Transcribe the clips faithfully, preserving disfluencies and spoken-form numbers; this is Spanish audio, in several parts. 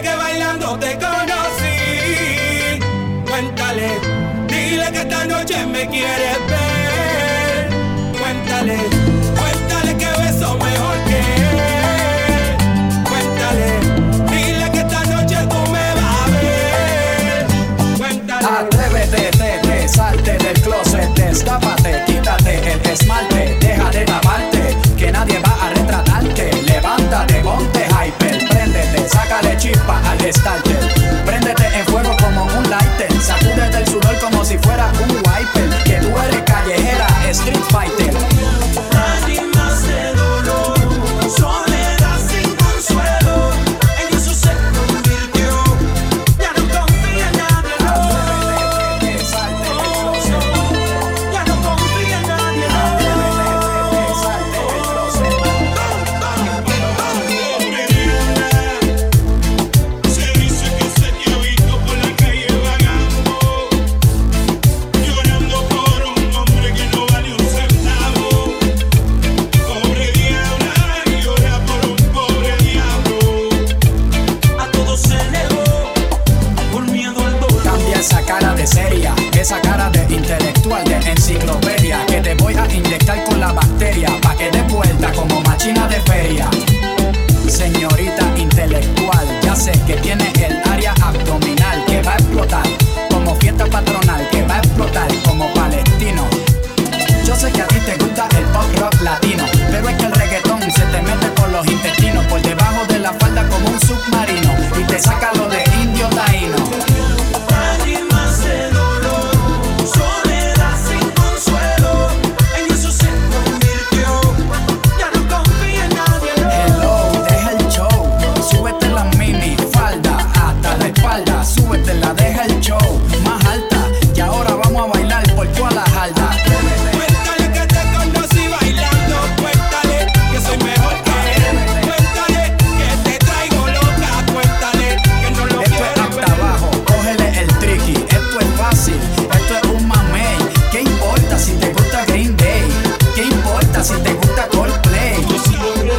Dile que bailando te conocí. Cuéntale, dile que esta noche me quieres ver. Cuéntale, cuéntale que beso mejor que él. Cuéntale, dile que esta noche tú me vas a ver. Cuéntale. Atrévete, te, te, salte del closet, destápate, quítate el esmalte, deja de lavarte, que nadie va a retratarte. Levántate, ponte hyper, préndete, sácale chispa al starter. Préndete en fuego como un lighter, sacúdete el sudor como si fuera un wiper. Que tú eres callejera, street fighter. Nadie más de dolor, soledad sin consuelo. En eso se convirtió, ya no confía en nadie, no. Atrévete, te, salte del closet. Ya no confía en nadie, no. Atrévete, te, salte del closet. Se dice que se te ha visto por la calle vagando, llorando por un hombre que no vale un centavo. Pobre diabla, llora por un pobre diablo. A todo se negó, por miedo al dolor. Cambia esa cara de seria, esa cara de intelectual, de enciclopedia, que te voy a inyectar con la bacteria, pa' que des vuelta como machina de feria. Señorita intelectual, ya sé que tiene el área abdominal que va a explotar, como fiesta patronal que va a explotar como palestino. Yo sé que a ti te gusta el pop rock latino, pero es que el reggaetón se te mete por los intestinos, por debajo de la falda como un submarino, y te saca lo de indio taíno. Nadie más de dolor, soledad sin consuelo. En eso se convirtió, ya no confía en nadie, no. Hello, deja el show, súbete la mini falda hasta la espalda, súbetela, deja el show más alta, y ahora vamos a bailar por toda la jarda. Cuéntale que te conocí bailando. Cuéntale que soy mejor que él. Cuéntale que te traigo loca. Cuéntale que no lo Esto es quiero hasta ver. abajo, cógele el tricky, esto es fácil, esto es un mamey. ¿Qué importa si te gusta Green Day? ¿Qué importa si te gusta Coldplay? Tengo,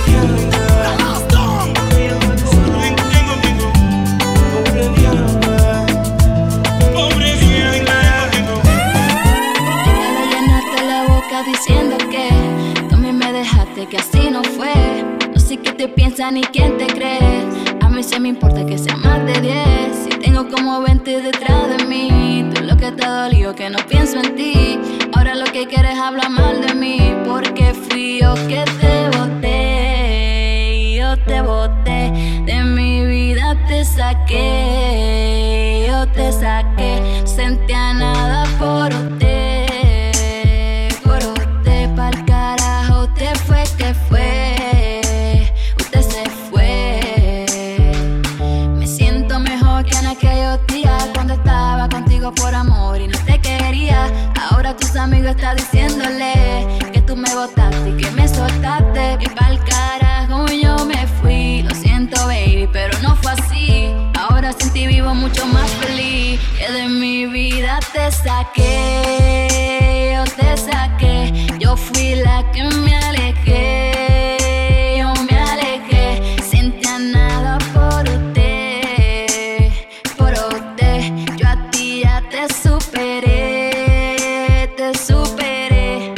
tengo, pobre diabla, pobre diabla. Quiero llenarte la boca diciendo que tú a mí me dejaste, que así no fue. No sé qué te piensan ni quién te cree. A mí sí me importa que sea más de diez. Si tengo como veinte detrás de mí, tú lo que te ha dolido que no pienso en ti. Ahora lo que quieres hablar mal de mí, porque fui yo que te boté. Yo te boté, de mi vida te saqué. Yo te saqué, sentía nada por usted. Por usted, pa'l carajo te fue que fue. Usted se fue. Me siento mejor que en aquellos días cuando estaba contigo por amor y no te quería. Ahora tus amigos están diciéndole que tú me botaste y que me soltaste. Y pa'l carajo yo me fui. Lo siento, baby, pero no fue así. Ahora sin ti vivo mucho más feliz. Que de mi vida te saqué. Yo te saqué. Yo fui la que me alejé. Yo me alejé. Sentía nada por usted. Por usted. Yo a ti ya te superé. Te superé.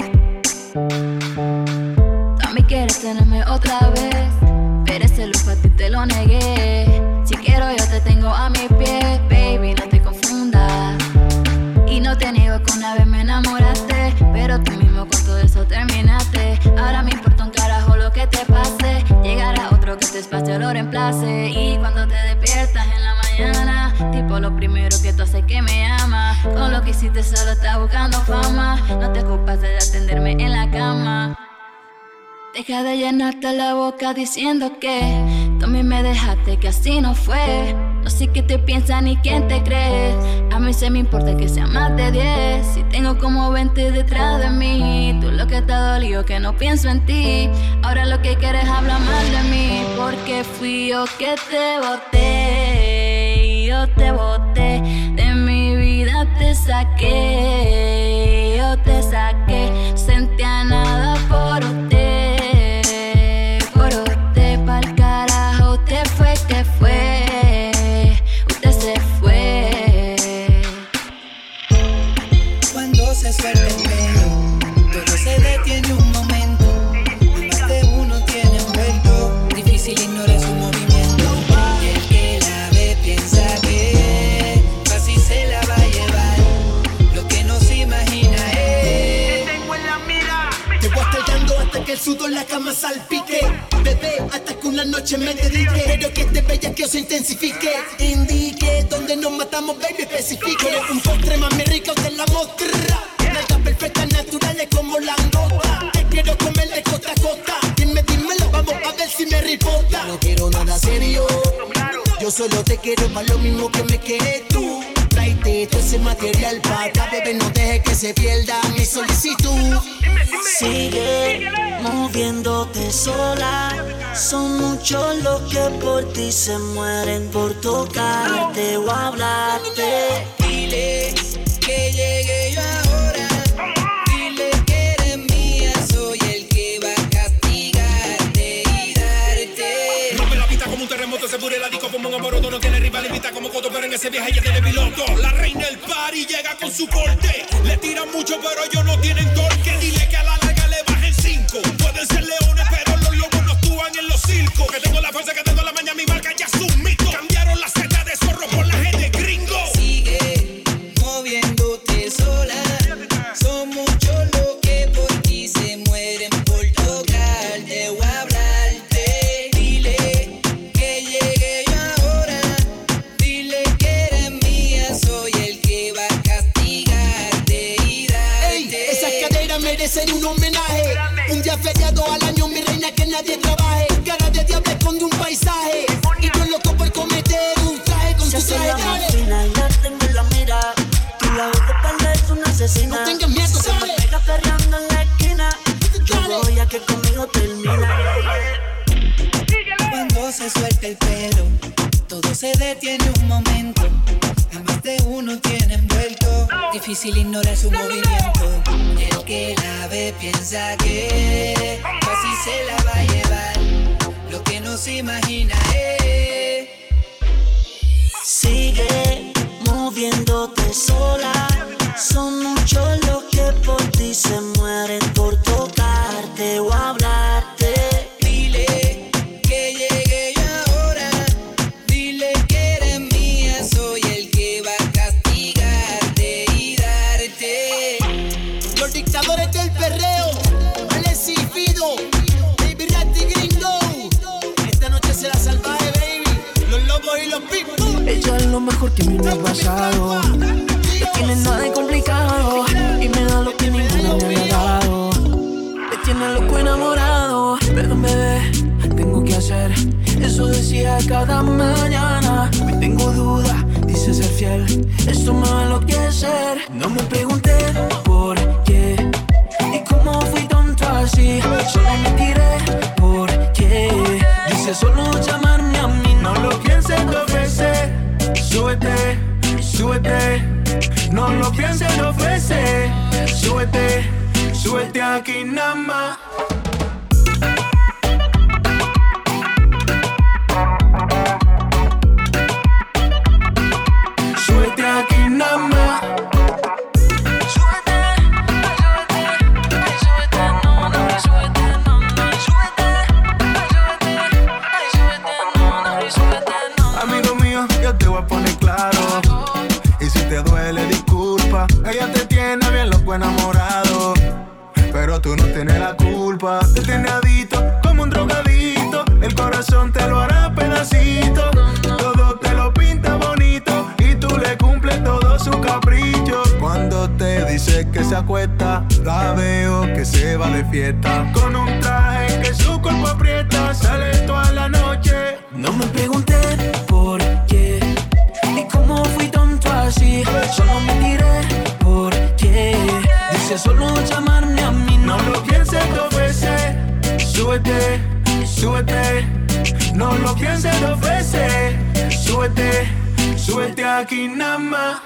Tú a mí quieres tenerme otra vez, pero ese lujo a ti te lo negué. Si quiero yo te tengo a mis pies, baby, no te confundas. Y no te niego que una vez me enamoraste, pero tú mismo con todo eso terminaste. Ahora me importa un carajo lo que te pase. Llegará otro que tu espacio lo reemplace. Y cuando te despiertas en la mañana, tipo lo primero que tú haces que me ama. Con lo que hiciste solo estás buscando fama. No te ocupas de atenderme en la cama. Deja de llenarte la boca diciendo que tú a mí me dejaste, que así no fue. No sé qué te piensan ni quién te crees. A mí se me importa que sea más de diez. Si tengo como veinte detrás de mí, tú lo que te ha dolido que no pienso en ti. Ahora lo que quieres hablar mal de mí, porque fui yo que te boté. Yo te boté, de mi vida te saqué. Yo te saqué, sentía nada por usted. Por usted, pa'l carajo te fue que fue. Difícil ignorar su movimiento. Y el que la ve piensa que fácil se la va a llevar. Lo que no se imagina es. Te tengo en la mira. Te voy a estar dando hasta que el sudor la cama salpique. Bebé, hasta que una noche me dedique. Pero que este bellaqueo se intensifique. Indique donde nos matamos, baby, especifique. Eres un postre más rico de la mostra. Nalgas perfectas, naturales como langota. Te quiero comer de costa a costa. Dime, dímelo, vamos a ver si me ripota. Yo no quiero nada serio. Yo solo te quiero para lo mismo que me quieres tú. Tráete todo ese material para acá, bebé, no deje que se pierda mi solicitud. Sigue moviéndote sola. Son muchos los que por ti se mueren por tocarte o hablarte. Dile que llegue yo ahora. Dile que eres mía, soy el que va a castigarte y darte. Rompe la pista como un terremoto, se pure la disco como un amoroso. No tiene rival, invita como coto, pero en ese viaje ella tiene piloto. La reina del party llega con su corte. Le tiran mucho, pero ellos no tienen torque. Dile que a la larga le bajen cinco. Pueden ser leones, pero los lobos no actúan en los circos. Que tengo la fuerza, que tengo la maña, mi marca ya es un mito. Cambiaron la seta de zorro por la G de gringo. Sigue moviéndote sola. Son muchos los que por ti se mueren por tocarte o hablarte. Dile que llegue yo ahora. Dile que eres mía, soy el que va a castigarte y darte. Ey, esas caderas merecen un homenaje. Un día feriado al año, mi reina, que nadie trabaje. Cara de diablo esconde un paisaje. Y yo loco por cometer un traje con Se tu hace traje, la dale. más fina y la tengo en la mira. Tú la ves de espalda, es una asesina. No tengas miedo, Si se me dale. pega perreando en la esquina, yo Dale. voy a que conmigo termina. Cuando se suelta el pelo, todo se detiene un momento. A más de uno tiene envuelto. Difícil ignorar su movimiento. El que la ve piensa que así se la va a llevar. Lo que no se imagina es. Sigue moviéndote sola. Son muchos los que por ti se mueren por tocarte o hablarte. Dile que llegue yo ahora. Dile que eres mía, soy el que va a castigarte y darte. Los dictadores del perreo, Alex y Fido, Baby Ratty Gringo. Esta noche será salvaje, baby. Los lobos y los pitbulls. Ella es lo mejor que me ha pasado. No tiene nada de complicado y me da lo que ninguno me había dado. Me tiene loco enamorado. Perdón, bebé, tengo que hacer. Eso decía cada mañana. Hoy tengo duda, dice ser fiel. Esto me va a enloquecer. No me pregunté por qué y cómo fui tonto así. Solo me tiré porque dice solo llamarme a mí. No lo pienses dos veces. Súbete, súbete. No lo pienses dos veces. Súbete, súbete aquí nada más. Súbete aquí nada más. Súbete, súbete, súbete, no, no, súbete, no, no, súbete, súbete, súbete, no, no, súbete, no. Amigo mío, yo te voy a poner claro. Y si te duele, disculpa. Ella te tiene bien loco enamorado, pero tú no tienes la culpa. Te tiene adicto como un drogadito. El corazón te lo hará pedacito. Todo te lo pinta bonito y tú le cumples todo su capricho. Cuando te dice que se acuesta, la veo que se va de fiesta. Con un traje que su cuerpo aprieta, sale toda la noche. No me pregunté por qué y cómo fui tonto así. Solo me tiré porque dice solo llamarme a mí. No lo pienses dos veces. Súbete, súbete. No lo pienses dos veces. Súbete, súbete aquí nada más.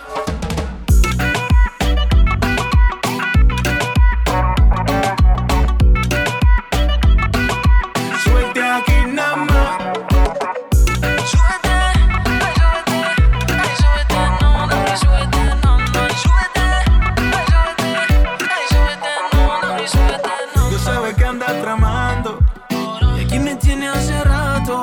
Súbete aquí nada más. Súbete, súbete, súbete, no, no, súbete, no, no, súbete, súbete, súbete, no, no, súbete, no. Tú sabes que andas tramando. Y aquí me tiene hace rato.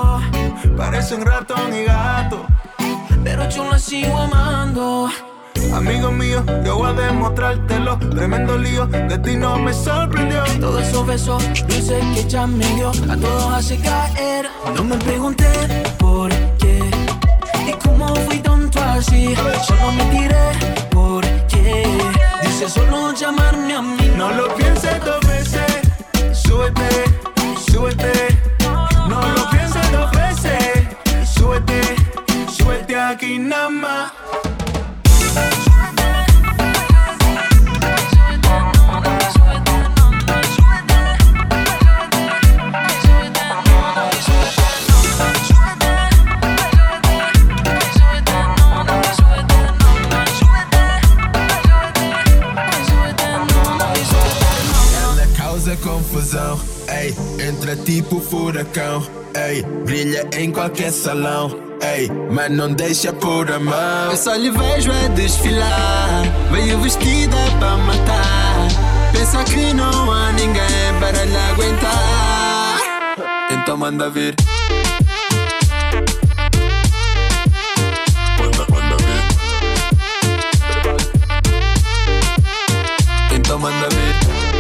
parecen ratón y gato, pero yo la sigo amando. Amigo mío, yo voy a demostrártelo. Tremendo lío, de ti no me sorprendió. Todos esos besos dulces que ella me dio, a todos hace caer. No me pregunté por qué y cómo fui tonto así. Solo me tiré porque dice solo llamarme a mí. No lo pienses dos veces, súbete, súbete. No lo pienses dos veces, súbete, súbete aquí nada más. Confusão, ei, entra tipo furacão, ei, brilha em qualquer salão, ei, mas não deixa por a mão. Eu só lhe vejo a desfilar, veio vestida pra matar. Pensa que não há ninguém para lhe aguentar. Então manda vir. Manda, manda vir. Então manda vir.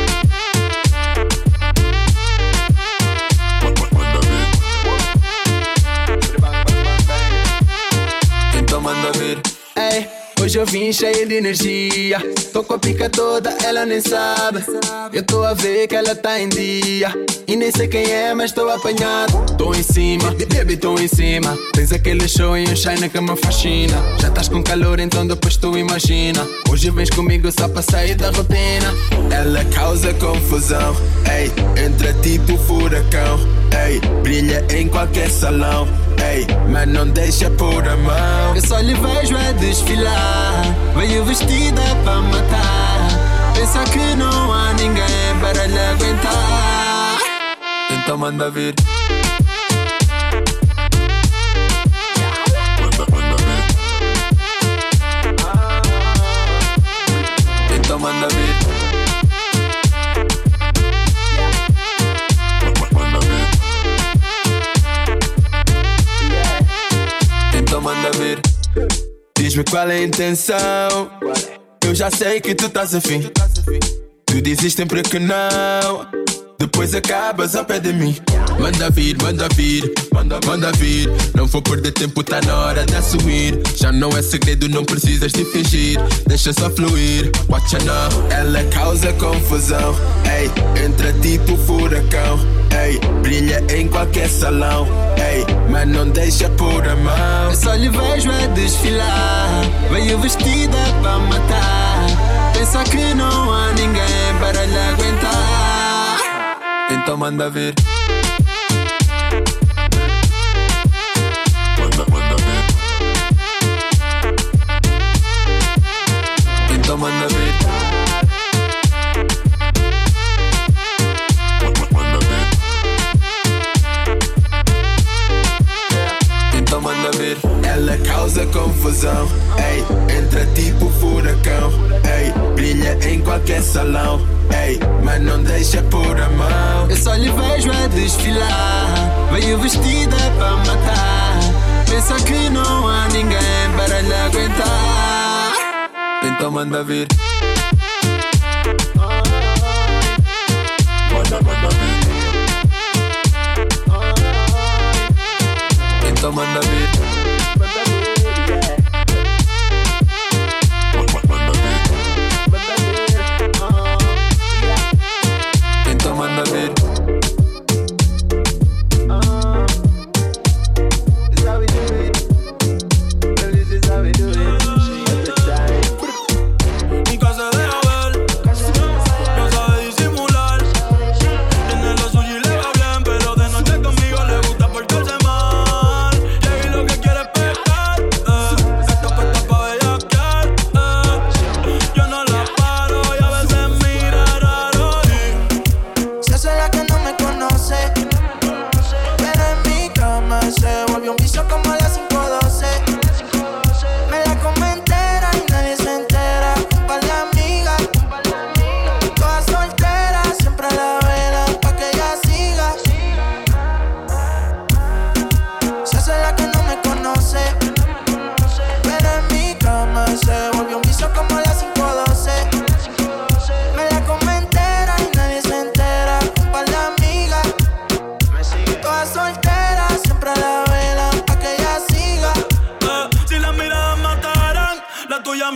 Ei, hoje eu vim cheio de energia. Tô com a pica toda, ela nem sabe. Eu tô a ver que ela tá em dia. E nem sei quem é, mas tô apanhado. Tô em cima, baby, tô em cima. Tens aquele show e um shine que me fascina. Já estás com calor, então depois tu imagina. Hoje vens comigo só pra sair da rotina. Ela causa confusão, ei, entra tipo furacão, ei, brilha em qualquer salão, ei, mas não deixa por a mão. Eu só lhe vejo a desfilar, veio vestida pra matar. Pensa que não há ninguém para lhe aguentar. Então manda vir. Manda, manda vir. Então manda vir. Manda vir. Então manda vir. Diz-me qual é a intenção. Eu já sei que tu estás afim. Tu dizes sempre que não, depois acabas ao pé de mim. Manda vir, manda vir, manda, manda vir. Não vou perder tempo, tá na hora de assumir. Já não é segredo, não precisas de fingir. Deixa só fluir, watch out now. Ela causa confusão, ei, entra tipo furacão, ei, brilha em qualquer salão, ei, mas não deixa por a mão. Eu só lhe vejo a desfilar, veio vestida pra matar. Pensa que não há ninguém para lhe aguentar. Então manda vir. Manda, manda vir. Então manda vir. Manda vir. Então manda vir. Ela causa confusão, ei, entra tipo furacão, ei, brilha em qualquer salão, ei, mas não deixa por a mão. Eu só lhe vejo a desfilar, veio vestida pra matar. Pensa que não há ninguém para lhe aguentar. Então manda vir. Manda, manda vir. Então manda vir. Manda vir. Então manda vir. Nunca se deja ver, no sabe disimular. Tiene lo suyo y le va bien, pero de noche conmigo le gusta portarse mal. Y lo que quiere es pecar, eh. Está puesta pa' bellaquear, eh. Yo no la paro y a veces mira raro y se hace la que no me conoce, pero en mi cama se volvió un vicio como a las cinco doce. Me la come entera y nadie se entera. Un par de amigas, todas solteras, siempre la velan pa' que ella siga. Se hace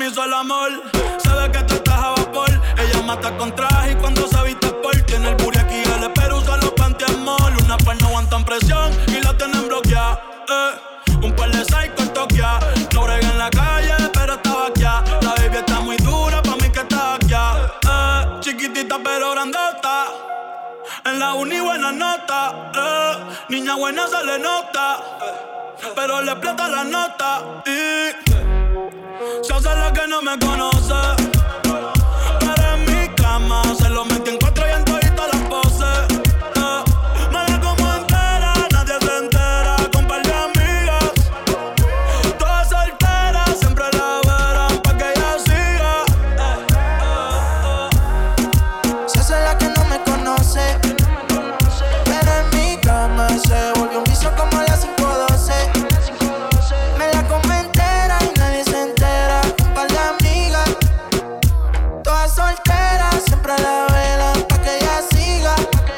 hizo el amor. Se ve que tú estás a vapor. Ella mata con traje y cuando se viste por tiene el booty aquí, el espero usa los pantiamol. Una par no aguantan presión y la tienen bloqueada. Eh. Un par de psycho en Tokia. No brega en la calle, pero está vaqueada. La baby está muy dura, pa' mí que está vaqueada. Eh. Chiquitita pero grandota. En la uni buena nota. Eh. Niña buena se le nota. Pero le explota la nota. Y se hace la que no me conoce. Pero en mi cama se lo metí en cuatro y en todita las poses. Eh. Me la como entera, nadie se entera. Con par de amigas, todas solteras, siempre la verán pa' que ella siga. Eh, eh, eh. Se hace la que no me conoce. Pero en mi cama se volvió un vicio como las cinco doce. Me la como entera y nadie se entera. Un par de amigas, todas solteras, siempre la velan pa' que ella siga.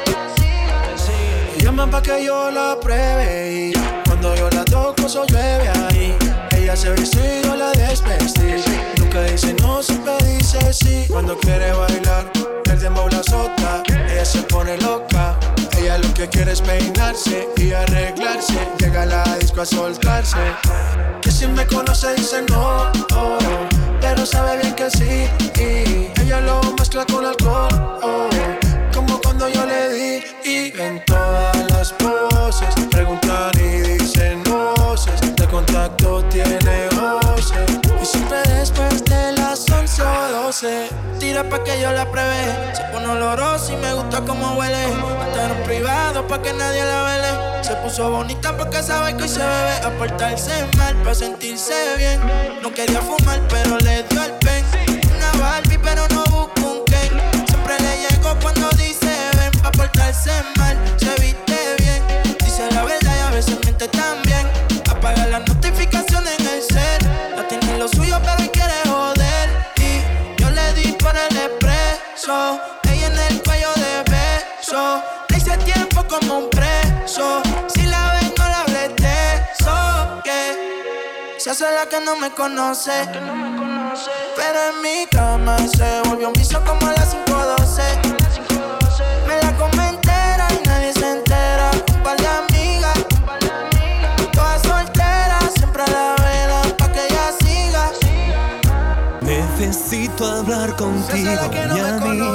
Me llaman pa' que yo la pruebe y cuando yo la toco eso llueve ahí. Ella se viste y yo la desvestí. Nunca dice no, siempre dice sí. Cuando quiere bailar, el dembow la azota. Ella se pone loca. Ella lo que quiere es peinarse y arreglarse. Llega a la disco a soltarse. Que si me conoce dice no, oh, pero sabe bien que sí. Y ella lo mezcla con alcohol, oh, como cuando yo le di. Y en todas las poses preguntan y dicen voces. De contacto tiene voces. Y siempre después de las once o doce tira pa' que yo la pruebe. Se pone olorosa y me gusta cómo huele. Hasta en un privado pa' que nadie la vele. Se puso bonita porque sabe que hoy se bebe. A portarse mal pa' sentirse bien. No quería fumar pero le dio el pen. Una Barbie pero no busco un Ken. Siempre le llego cuando dice ven. Pa' portarse mal, se viste bien. Dice la verdad y a veces miente también. Apaga las notificaciones en el cel. No tiene lo suyo pero hoy quiere joder. Y yo le di por el expreso. Ella en el cuello de beso. Le hice tiempo como un preso. Si la ven no la hables de eso. Que se hace la que no me conoce. Pero en mi cama se volvió un vicio como las cinco doce. Me la come entera y nadie se entera. Un par de amigas, todas solteras, siempre la velan pa' que ella siga. Necesito hablar contigo, mi amigo.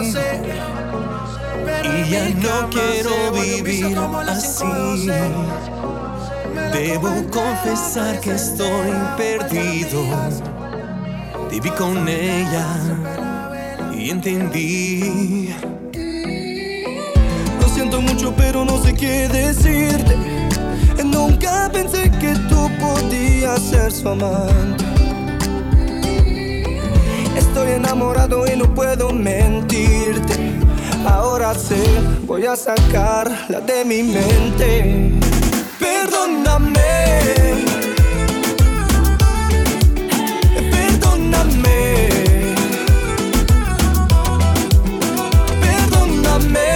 Y ya no quiero vivir así. Debo confesar que estoy perdido. Viví con ella y entendí. Lo siento mucho pero no sé qué decirte. Nunca pensé que tú podías ser su amante. Estoy enamorado y no puedo mentirte. Ahora sé, voy a sacarla de mi mente. Perdóname. Perdóname. Perdóname.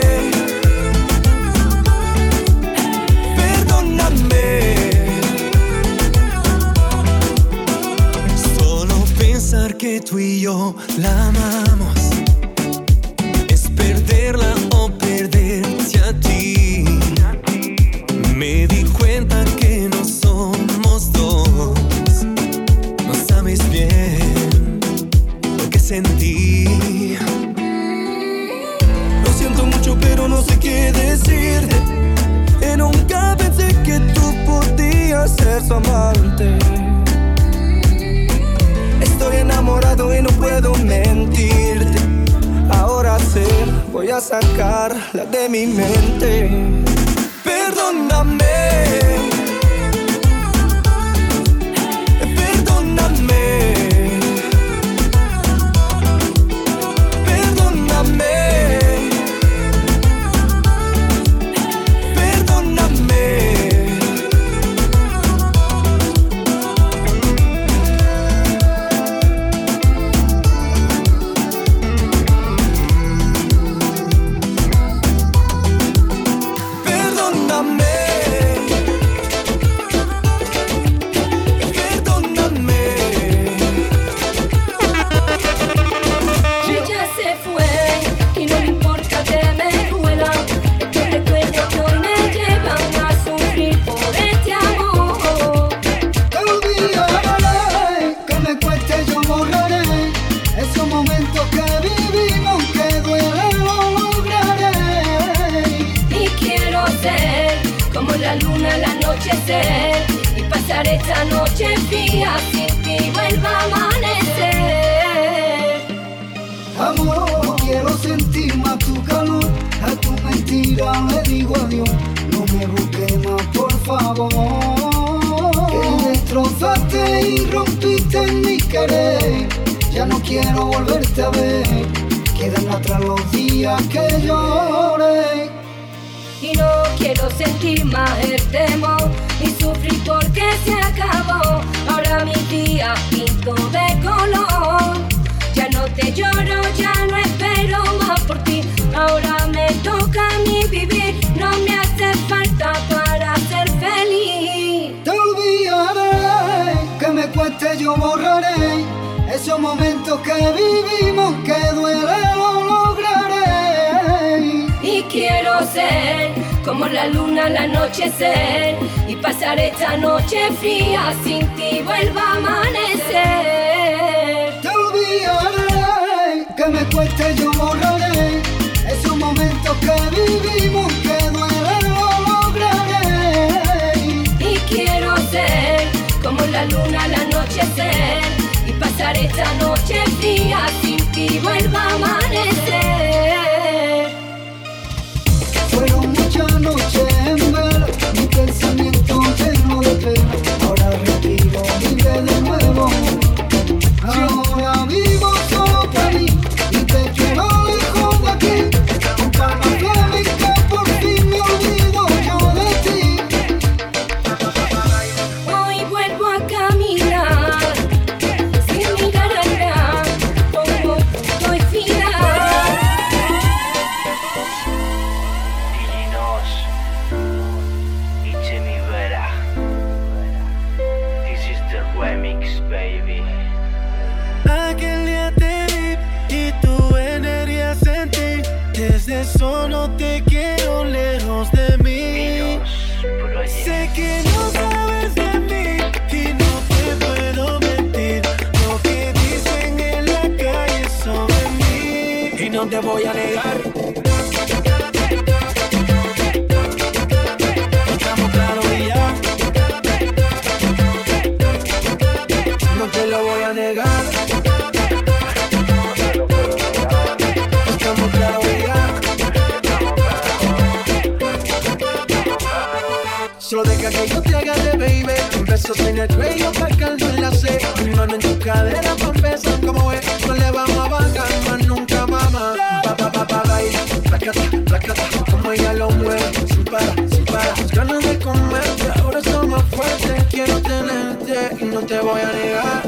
Perdóname. Solo pensar que tú y yo la amamos es perderla o perderte a ti. Me di cuenta que no somos dos. No sabes bien lo que sentí. Lo siento mucho pero no sé qué decirte. Y nunca pensé que tú podías ser su amante. Estoy enamorado y no puedo mentirte. Ahora sé, voy a sacarla de mi mente. Perdóname. Perdóname. Perdóname. Perdóname. Perdóname. pasar esta noche fría sin ti vuelva a amanecer. Amor, no quiero sentir más tu calor, a tu mentira le digo adiós. No me busques más, por favor, que me destrozaste y rompiste mi querer. Ya no quiero volverte a ver, quedan atrás los días que lloré. Y no quiero sentir más el temor, ni sufrir porque se acabó. Ahora mi día pinto de color. Ya no te lloro, ya no espero más por ti. Ahora me toca a mí vivir, no me hace falta para ser feliz. Te olvidaré, que me cueste yo borraré esos momentos que vivimos, que duele lo lograré. Y quiero ser como la luna al anochecer y pasar esta noche fría sin ti vuelva a amanecer. Te olvidaré, que me cueste yo borraré esos momentos que vivimos, que duele lo lograré. Y quiero ser como la luna al anochecer y pasar esta noche fría sin ti vuelva a amanecer. Fueron muchas noches en vela, mi pensamiento lleno de pena. Ahora respiro libre de nuevo. Ahora vivo solo para mí y te quiero lejos de aquí. Con calma flamenca por fin me olvido yo de ti. Hoy vuelvo a caminar sin mirar atrás, como estoy final. Dinos y Jimmy Vera. This is the remix, baby. Aquel día te vi y tu energía sentí. Desde solo te quiero lejos de mí. Sé que no sabes de mí y no te puedo mentir. Lo que dicen en la calle sobre mí y no te voy a negar. Estamos claros y ya. No te lo voy a negar. Estamos claros y ya. Solo deja que yo te agarre, baby. Besos en el cuello para calmar la sed. Mi mano en tu cadera pa' empezar como es. No le vamos a bajar más nunca, mamá. Pa, pa, pa, pa, baila. Placata, placata. Como ella lo mueve. Sin parar, sin parar. Las ganas de comerte. Ahora son más fuertes. Quiero tenerte y no te voy a negar.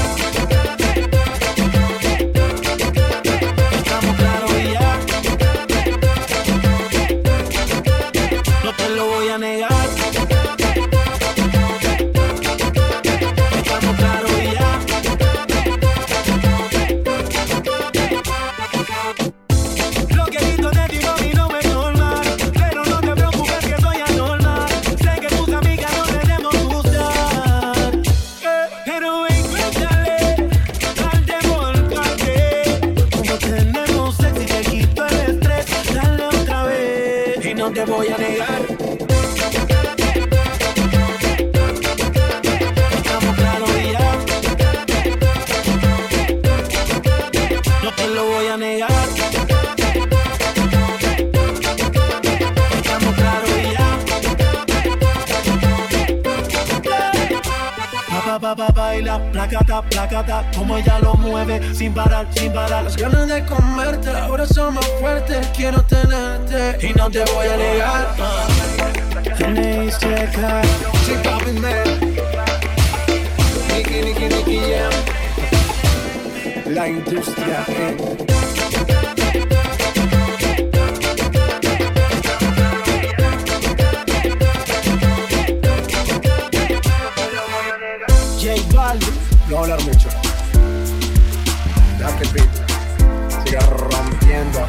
Estamos claros y ya. No te lo voy a negar. Estamos claros y ya. Lo que he visto de ti, mami, no me es normal. Pero no te preocupes que soy anormal. Sé que tus amigas no debemos gustar. Pero ven, cuéntale al devolverte. Como tenemos sexy, te quito el estrés. Dale otra vez y no te voy a negar. Estamos claros y ya. No te lo voy a negar. Estamos claros y ya. Pa, pa, pa, pa, baila, placata, placata. Como ella lo mueve, sin parar, sin parar. Las ganas de comerte, ahora son más fuertes. Quiero tenerte y no te voy a negar. Tenéis que caer. Sí, papi, man. Nicky, Nicky, Nicky, yeah. La industria, eh. J Balvin, no hablar mucho. Deja que el beat siga rompiendo.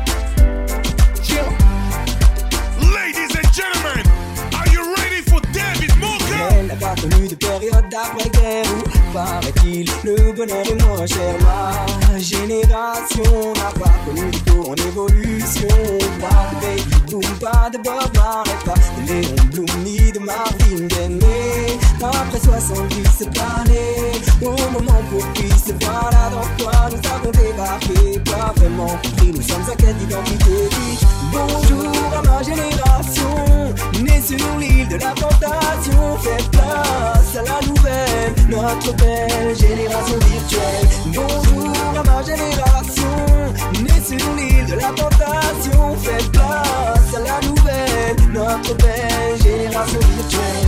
Ladies and gentlemen, are you ready for David Moka? Elle n'a pas connu de période d'après-guerre où, paraît-il, le bonheur est moins cher. Ma génération n'a pas connu de tour en évolution. Pas de baby boom, pas de Bob Marley, pas de Léon Blum ni de Marvin Gaye. Mais ma soixante-dix cette année. Au moment propice, voilà dans quoi nous avons débarqué. Pas vraiment compris, nous sommes en quête d'identité. Bonjour à ma génération, née sur l'île de la tentation. Faites place à la nouvelle, notre belle génération virtuelle. Bonjour à ma génération, née sur l'île de la tentation. Faites place à la nouvelle, notre belle génération virtuelle.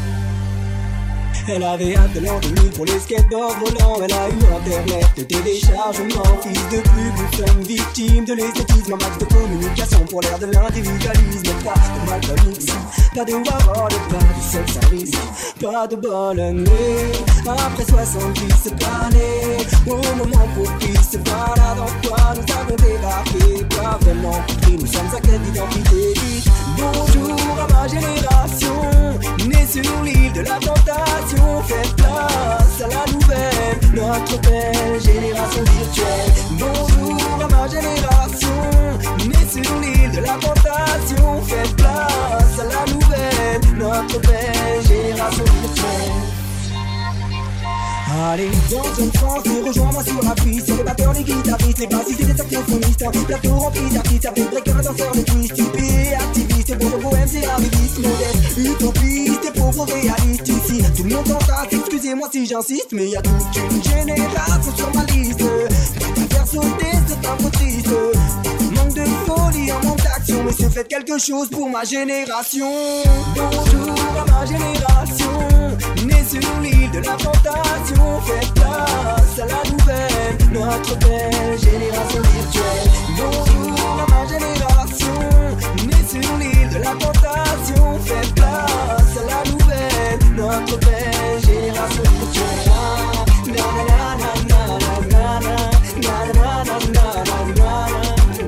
Elle avait hâte de l'an deux mille pour les skateboards volants. Elle a eu internet de téléchargement. Fils de pub, nous sommes victimes de l'esthétisme. Un max de communication pour l'ère de l'individualisme. Pas de malbon ici, pas de warhol, pas de sexe à risque, pas de bonne année. Après soixante-dix cette année, au moment propice, voilà dans quoi nous avons débarqué. Pas vraiment compris, nous sommes à quête d'identité. Bonjour à ma génération, née sur l'île de la tentation. Faites place à la nouvelle, notre belle génération virtuelle. Bonjour à ma génération, née sur l'île de la tentation. Faites place à la nouvelle, notre belle génération virtuelle. Allez, dans une France, rejoins-moi sur la piste. C'est les batteurs, les guitaristes, les bassistes et les saxophonistes. Un plateau rempli d'artistes, avec breakers, danseurs de twist. Typés, activistes, pour le poème, c'est arriviste. Modeste, utopiste et pauvres réalistes. Ici, tout le monde en face, excusez-moi si j'insiste. Mais y a toute une génération sur ma liste. Prête à faire sauter, c'est un peu triste. Manque de folie, un manque d'action. Monsieur, faites quelque chose pour ma génération. Bonjour à ma génération, née sur l'île de la tentation. Faites place à la nouvelle, notre belle génération virtuelle. Bonjour à ma génération, née sur l'île de la tentation. Faites place à la nouvelle, notre belle génération virtuelle. Na na na na na na na na na na na na na.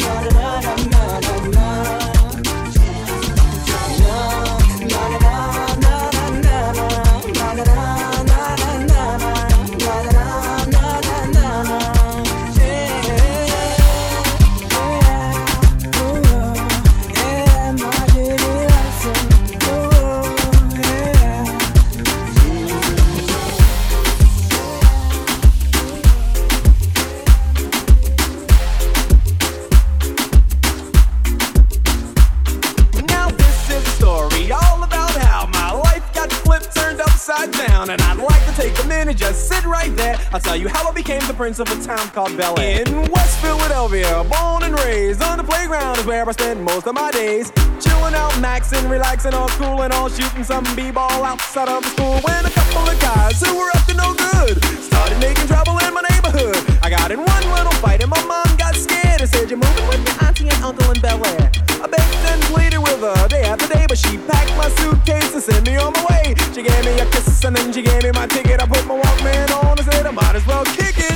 And I'd like to take a minute, just sit right there. I'll tell you how I became the prince of a town called Bel Air. In West Philadelphia, born and raised, on the playground is where I spend most of my days. Chilling out, maxing, relaxing, all cool and all, shooting some b-ball outside of the school. When a couple of guys who were up to no good started making trouble in my neighborhood. I got in one little fight and my mom got scared and said, "You're moving with your auntie and uncle in Bel Air." I begged and pleaded with her day after day, but she packed my suitcase and sent me on my way. She gave me a kiss and then she gave me my ticket. I put my Walkman on and said I might as well kick it.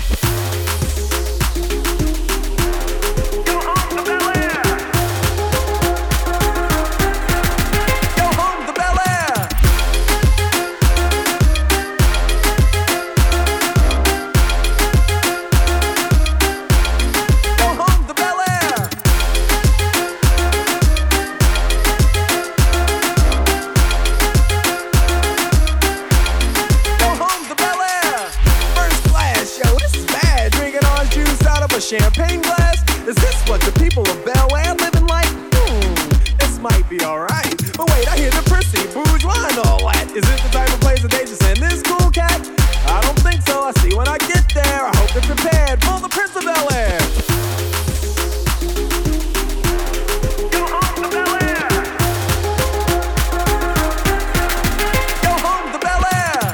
Go home to Bel Air. Go home to Bel Air. Go home to Bel Air. A champagne glass? Is this what the people of Bel Air living like? Hmm, this might be alright. But wait, I hear the prissy, bourgeois and all that. Is it the type of place that they should send this cool cat? I don't think so. I see when I get there. I hope they're prepared for the Prince of Bel Air. Go home to Bel Air. Go home to Bel Air.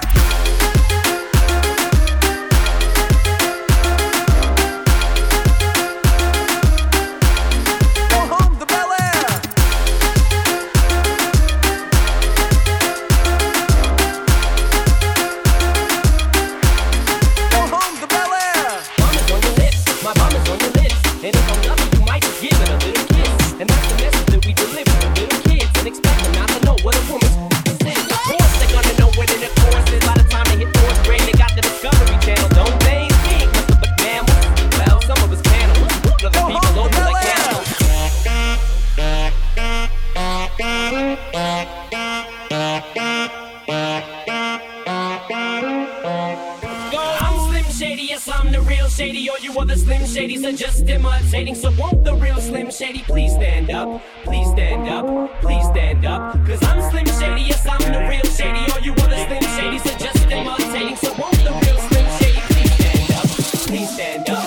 Shady, yes, I'm the real Shady. All you other Slim Shadys are just imitating. So won't the real Slim Shady please stand up? Please stand up, please stand up. Cause I'm Slim Shady, yes, I'm the real Shady. All you other Slim Shadys are just imitating. So won't the real Slim Shady please stand up? Please stand up.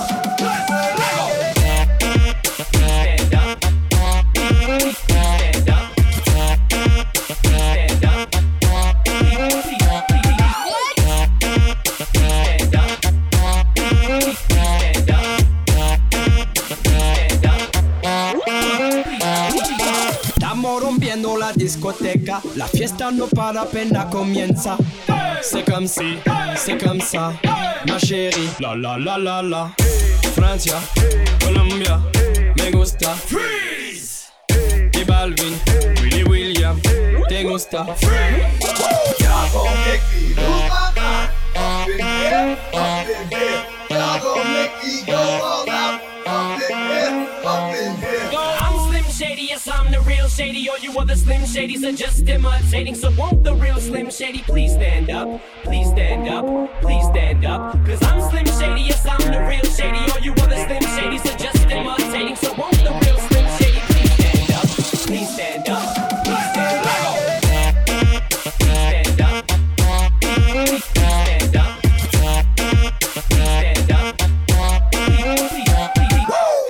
Rompiendo la discoteca, la fiesta no para, apenas comienza. C'est comme si, c'est comme ça, ma chérie. La la la la la. Francia, Colombia, me gusta. Freeze. Y Balvin, Willy William, te gusta. Freeze. Y'all gon' make me lose my mind. Up in here, up in here. Y'all gon' make me go all out. Up in here, up in here. Shady, yes, I'm the real Shady. All you other Slim Shadys are just imitating. So won't the real Slim Shady please stand up? Please stand up, please stand up. Cause I'm Slim Shady, yes, I'm the real Shady. All you other Slim Shadys are just imitating. So won't the real Slim Shady please stand up? Please stand up, please stand up. Please stand up, please stand up. Please stand up. Please, please, please.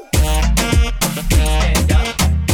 Stand up.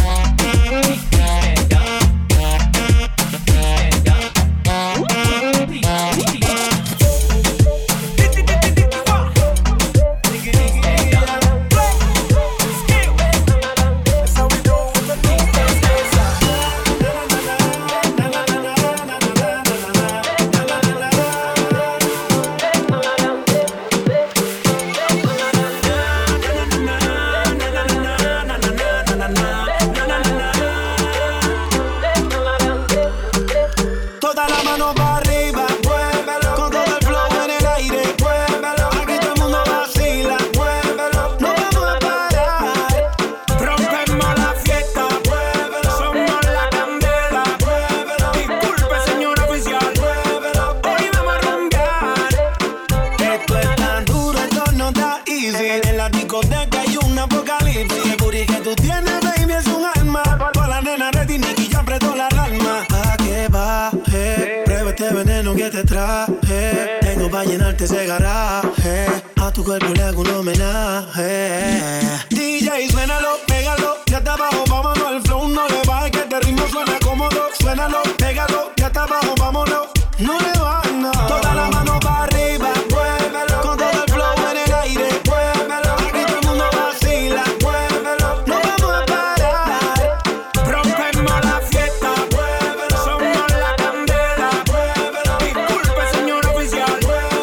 Ese garaje, a tu cuerpo le hago un homenaje. D J, suénalo, pégalo, ya está abajo, vámonos. El flow no le baje, que este ritmo suena cómodo. Suénalo, pégalo, ya está abajo, vámonos. No le bajes nada. Toda la mano para arriba, muévelo. Con todo el flow en el aire, muévelo. Aquí todo el mundo vacila, muévelo. No vamos a parar, rompemos la fiesta, muévelo. Somos la candela, muévelo. Disculpe, señor oficial.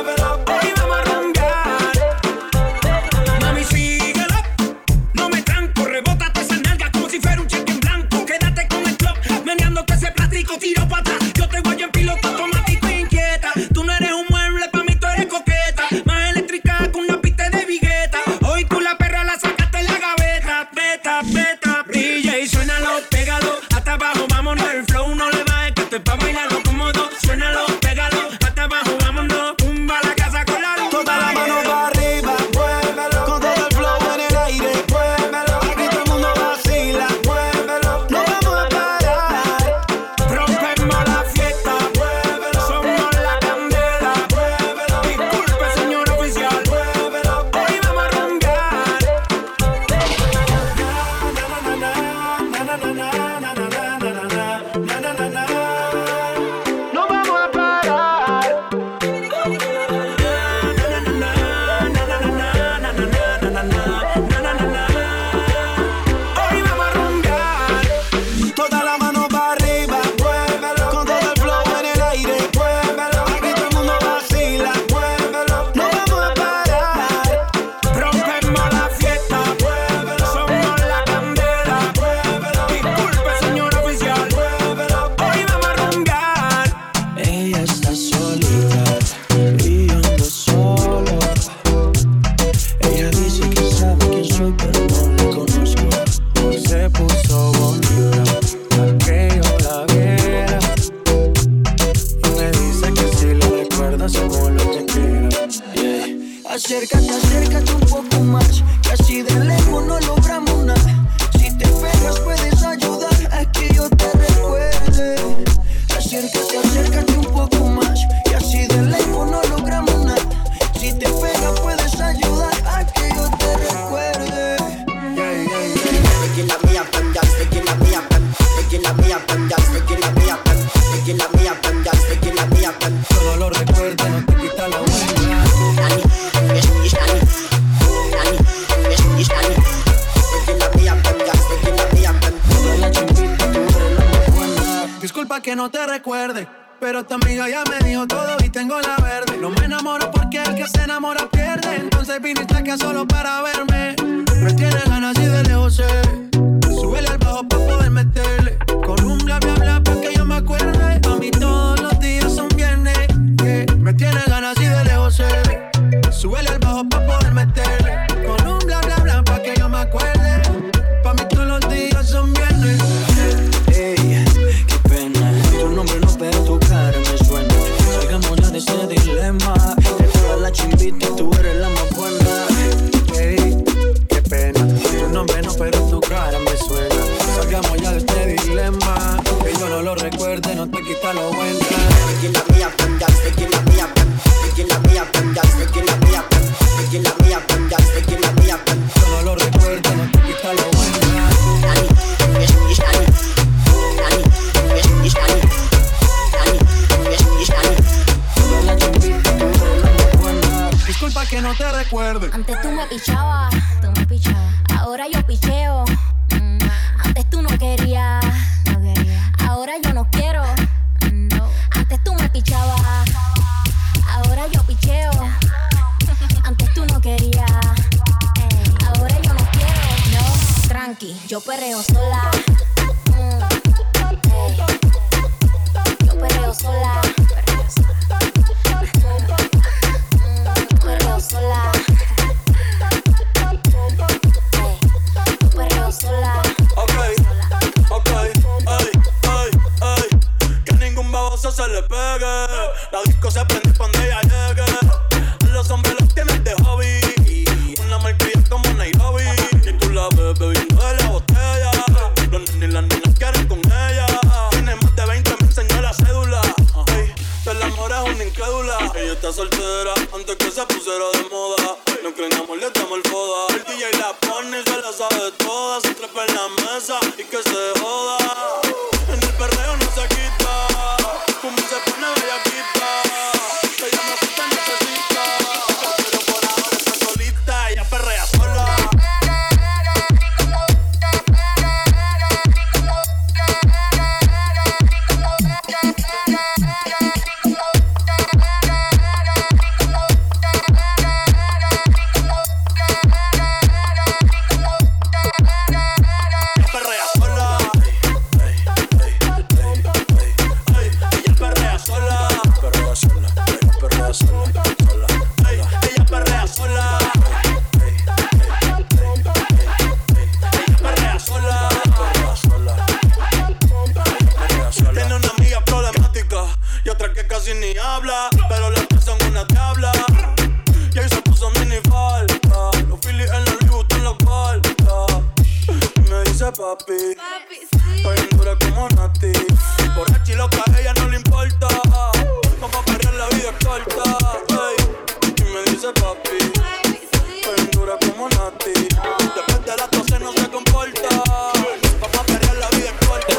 Tiro para atrás, yo te voy en piloto automático inquieta. Tú no eres un mueble, pa' mí tú eres coqueta. Más eléctrica que una pista de vigueta. Hoy tú la perra la sacaste en la gaveta. Beta, beta, D J, suénalo, pégalo. Hasta abajo, vámonos, el flow no le bajes, que esto es pa' bailarlo cómodo. Suénalo, pégalo, hasta abajo, vámonos. Tumba la casa con la luz. Toda la mano para arriba, muévelo. Con todo el flow en el aire, muévelo. Aquí todo el mundo vacila, muévelo. No vamos a parar, rompemos la fiesta, muévelo. Somos la candela, muévelo. Disculpe, señor oficial, muévelo. Hoy vamos a roncar. No vamos a parar. Hoy vamos a roncar. Toda la mano para arriba, muévelo. Con todo el flow en el aire, muévelo. Aquí todo el mundo vacila, muévelo. No vamos a parar, rompemos la fiesta, muévelo. Somos la candela, muévelo. Disculpe, señor oficial, muévelo. Hoy vamos a roncar. Ella está solita y yo ando solo. Ella dice que sabe quién soy, pero no la conozco. Se puso bonita para que yo la viera. Me dice que si la recuerda, si Acércate, acércate un poco más, que así de lejos no logramos nada. Si te pegas puedes ayudar a que yo te recuerde. Acércate, acércate un poco más, y así de lejos no logramos nada. Si te pegas puedes ayudar a que yo te recuerde. Yeah, yeah, yeah. Sticking at me up and down, sticking at me up and sticking at me up and down, sticking at me up and sticking at me up and down, sticking at me up and. Solo lo recuerda, no te quita la buena. Disculpa que no te recuerde, pero tu amiga ya me dijo todo y tengo la verde. No me enamoro porque el que se enamora pierde. Entonces viniste acá solo para verme. Me tienes ganas y de lejos sé. Súbele al bajo pa' poder meterle. Con un bla bla bla pa' que yo me acuerde. A mí todos los días son viernes. Yeah. Me tienes ganas y de lejos sé. Súbele al bajo pa' poder meterle. Con un bla bla bla pa' que yo me acuerde. Pa' mí todos los días son viernes. Ey, qué pena. Tu nombre no, pero tu cara me suena. Salgamos ya de ese dilema. De todas las chimbitas tú eres la más buena. Ey, qué pena. Tu nombre no, pero tu cara me suena. Salgamos ya de este dilema. Que yo no lo recuerde, no te quita lo bueno. Sticking at me up and down, sticking at me up and sticking at me up and down, sticking at me up and sticking at me up and down, sticking at me up and. Yo no lo recuerde, no te quita lo bueno. Disculpa que no te recuerde. Antes tú me pichabas, tú me pichabas. Ahora yo picheo. Mm. Antes tú no querías, no quería. Ahora yo no quiero. No. Antes tú me pichabas. Ahora yo picheo. Antes tú no querías. Ey. Ahora yo no quiero. No, tranqui, yo perreo sola. Mm. Ey. Yo perreo sola. Perreo sola. Perreo sola. Hey, perreo sola. Ok, ok, ey, ey, ey. Que ningún baboso se le pegue. La disco se prende cuando ella llegue. Los hombres los tienen de hobby. Una marquilla como Nairobi. Y tú la ves bebiendo de la botella. Los nenes y las nenas quieren con ella. Tiene más de veinte, me enseñó la cédula. Ey, el amor es una incrédula. Ella está soltera antes que se pusiera de moda. No creen amor, le damos el foda. El D J la pone y se la sabe toda. Se trepa en la mesa y que se joda. En el perreo no se quita. Como se pone bellaquita. Ella me gusta, necesita. Pero por ahora está solita. Ella perrea sola. Ni habla, pero las tres son una tabla. Y ahí se puso mini falta. Los Phillies en la Louis Vuitton los falta. Y me dice papi, estoy en dura como Nati. Por la chiloca a ella no le importa. Vamos a perder, la vida es corta. Ey. Y me dice papi, estoy en dura como Nati. Después de las doce no se comporta. Vamos a perder, la vida es corta.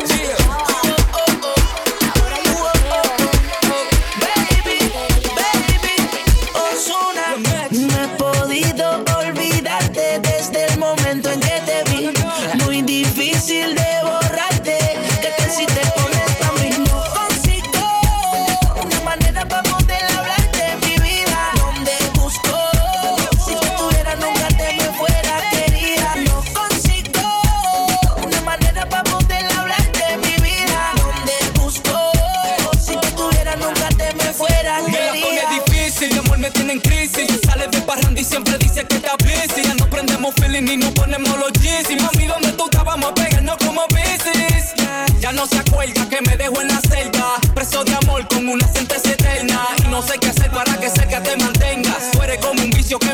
De borrarte, que te si te pones pa' mí. No consigo una manera pa' poder hablarte de mi vida. Donde busco, si tú tuvieras nunca te me fuera querida. No consigo una manera pa' poder hablarte de mi vida. Donde busco, si tú tuvieras nunca te me fuera querida. Me la pone difícil, mi amor me tiene en crisis. Sale de parranda y siempre dice que está busy. Ya no prendemos feeling y no ponemos los jeans. Y mami, ¿dónde tú estabas? Vamos a pegarnos como bicis. Ya no se acuerda que me dejó en la celda, preso de amor con una sentencia eterna. Y no sé qué hacer para que cerca te mantengas. Tú eres como un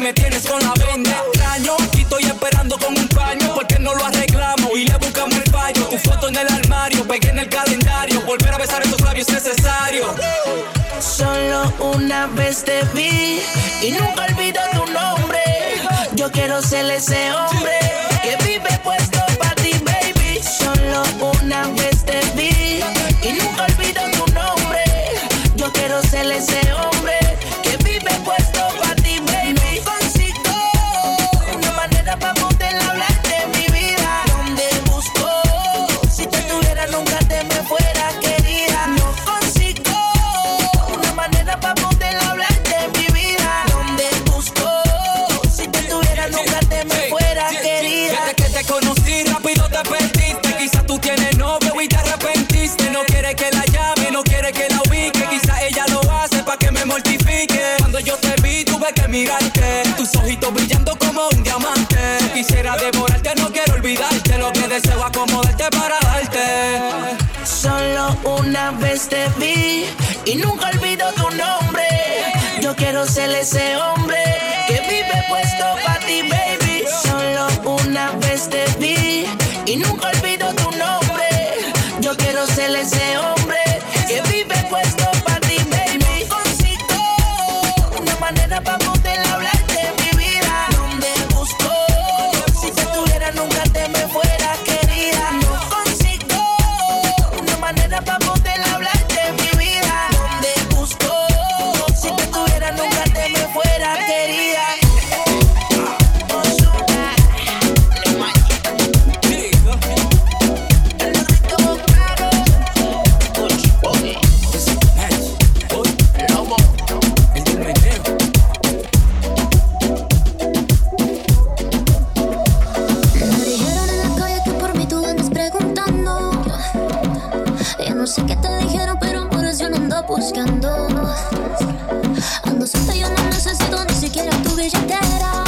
me tienes con la venda. Extraño, aquí estoy esperando con un paño, porque no lo arreglamos y le buscamos el fallo. Tu foto en el armario, pegué en el calendario, volver a besar esos labios es necesario. Solo una vez te vi y nunca olvido tu nombre. Yo quiero ser ese hombre que vive puesto para ti, baby. Solo una vez te vi y nunca olvido tu nombre. Yo quiero ser ese hombre que vive puesto para ti, baby. No consigo una manera para poder hablar de mi vida. Donde busco, si te tuviera nunca te me fuera, querida. No consigo una manera para poder hablar de mi vida. Donde busco, si te tuviera nunca te me fuera, querida. Desde que te conocí rápido te perdiste. Quizás tú tienes novio y te arrepentiste. No quieres que la llame, no quieres que la ubique. Quizás ella lo hace pa' que me mortifique. Cuando yo te vi tuve que mirarte, tus ojitos brillando como un diamante. Quisiera devorarte, no quiero olvidarte. Lo que deseo acomodarte para darte. Solo una vez te vi y nunca olvido tu nombre. Yo quiero ser ese hombre que vive puesto para ti, baby. Solo una vez te vi y nunca olvido tu nombre. Yo quiero ser ese hombre que vive puesto para ti, baby. Consigo una manera para poder hablar de mi vida. Donde busco, si te tuviera nunca te me fuera, querida. No consigo una manera para poder hablar de mi vida. Donde busco, si te tuviera nunca te me fuera, querida. No sé qué te dijeron, pero por eso no ando buscando. Ando suelta, yo no necesito ni siquiera tu billetera.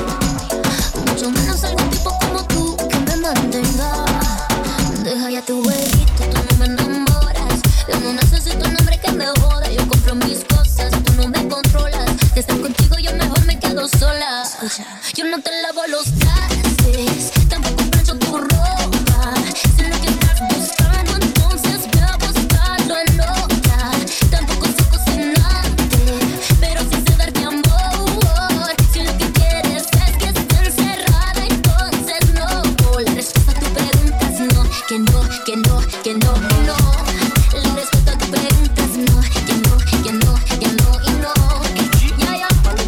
Mucho menos algún tipo como tú que me mantenga. Deja ya tu huevito, tú no me enamoras. Yo no necesito un hombre que me joda. Yo compro mis cosas, tú no me controlas. De estar contigo yo mejor me quedo sola. Yo no te lavo los trastes, tampoco plancho tu ropa. Sé lo que estás buscando, entonces ve a buscarlo en otra. Tampoco soy cocinante, pero sí sé darte amor. Si lo que quieres es que esté encerrada, entonces no. La respuesta a tu pregunta es no, que no, que no, que no, no. La respuesta a tu pregunta es no, que no, que no, que no y no. Ya,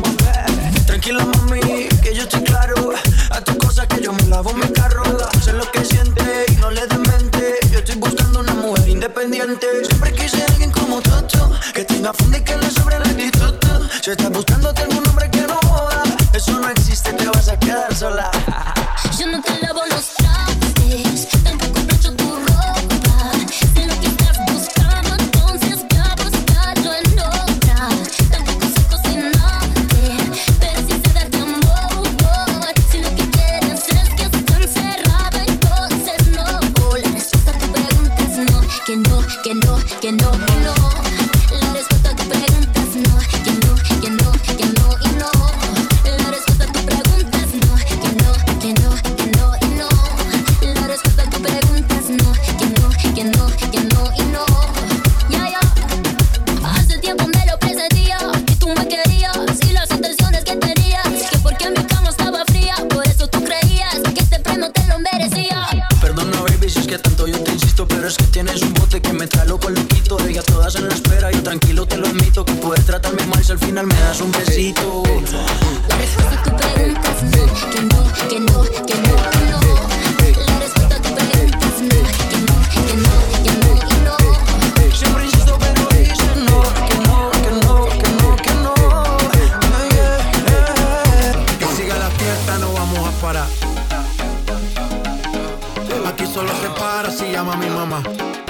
ya. Tranquila, mami, que yo estoy claro. A tus cosas que yo me lavo mi carro. Sé lo que siente y no le demente. Yo estoy buscando una mujer independiente. Siempre quise alguien como Toto, que tenga fondo y que le sobre el actitud. Si estás buscándote algún hombre que no joda, eso no existe, te vas a quedar sola. Yo no te lavo los trastes, tampoco plancho tu ropa. Sé lo que estás buscando, entonces ve a buscarlo en otra. Tampoco soy cocinante, pero sí sé darte amor. Si lo que quieres es que esté encerrada, entonces no. La respuesta a tu pregunta es no, que no, que no, que no, no. La respuesta a tu pregunta es no, que no, que no, que no y no. La respuesta a tu pregunta es no, que no, que no, que no y no. La respuesta a tu pregunta es no, que no, que no, que no y no. Ya, ya. Hace tiempo me lo presentía, que tú me querías y las intenciones que tenías. Que porque mi cama estaba fría, por eso tú creías que este premio te lo merecía. Perdona, baby, si es que tanto yo te insisto, pero es que tienes un bote que me trae loco loquito. Ellas todas en la espera, yo tranquilo te lo admito. Que puedes tratarme mal si al final me das un besito. La respuesta a tu pregunta es no, que no, que no, que no, no. La respuesta a tu pregunta es no, que no, que no, que no y no. Siempre insisto, pero dices no, que no, que no, que no, que no. Yeah, yeah. Que siga la fiesta, no vamos a parar. Aquí solo se para si llama a mi mamá.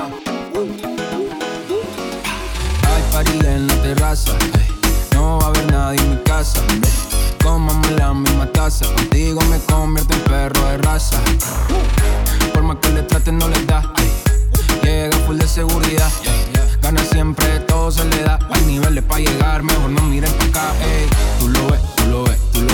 Hay party en la terraza, ey. No va a haber nadie en mi casa, ey. Comamos la misma taza, contigo me convierto en perro de raza. Por más que le traten no les da, ey. Llega full de seguridad, ey. Gana siempre, todo se le da. Hay niveles pa' llegar, mejor no miren pa' acá, ey. Tú lo ves, tú lo ves, tú lo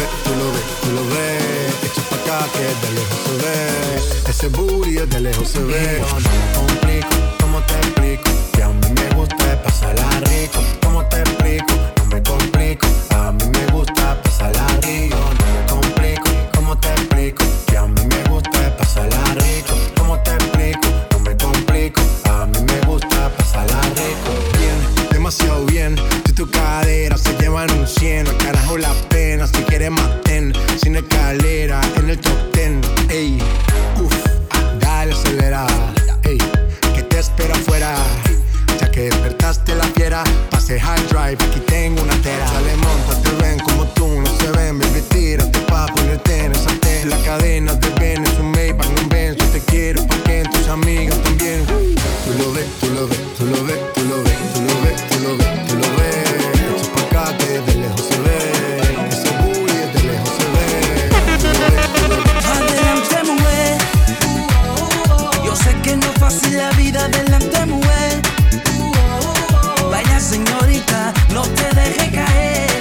ves, tú lo ves, tú lo ves. Echa pa' acá que de lejos se ve. Ese booty de lejos se ve. Yo no me complico, ¿cómo te explico? Que a mí me gusta pasarla rico. ¿Cómo te explico? No me complico. A mí me gusta pasarla rico. No me complico, ¿cómo te explico? Que a mí me gusta pasarla rico. ¿Cómo te explico? No me complico. A mí me gusta pasarla rico. Bien, demasiado bien. Si tu cadera se llevan un cien, al carajo la pena. Si quieres maten, sin escalera en el top ten. Ey, uff, dale acelera. Ey, que te espera afuera. Ya que despertaste la fiera, pase hard drive, aquí tengo una tera. Sale, monta, te ven como tú no se ven. Baby, tírate pa' ponerte en esa tela. La cadena te ven, es un Maybach, no ven. Yo te quiero pa' que tus amigas también. Tú lo ves, tú lo ves, tú lo ves, tú lo ves, tú lo ves, tú lo ves, tú lo ves. Echa pa' acá que de lejos se ve. Ese booty de lejos se ve. Tú lo ves, tú lo ves. Adelante, mujer. Yo sé que no es fácil la vida, adelante, mujer. Vaya señorita, no te dejes caer.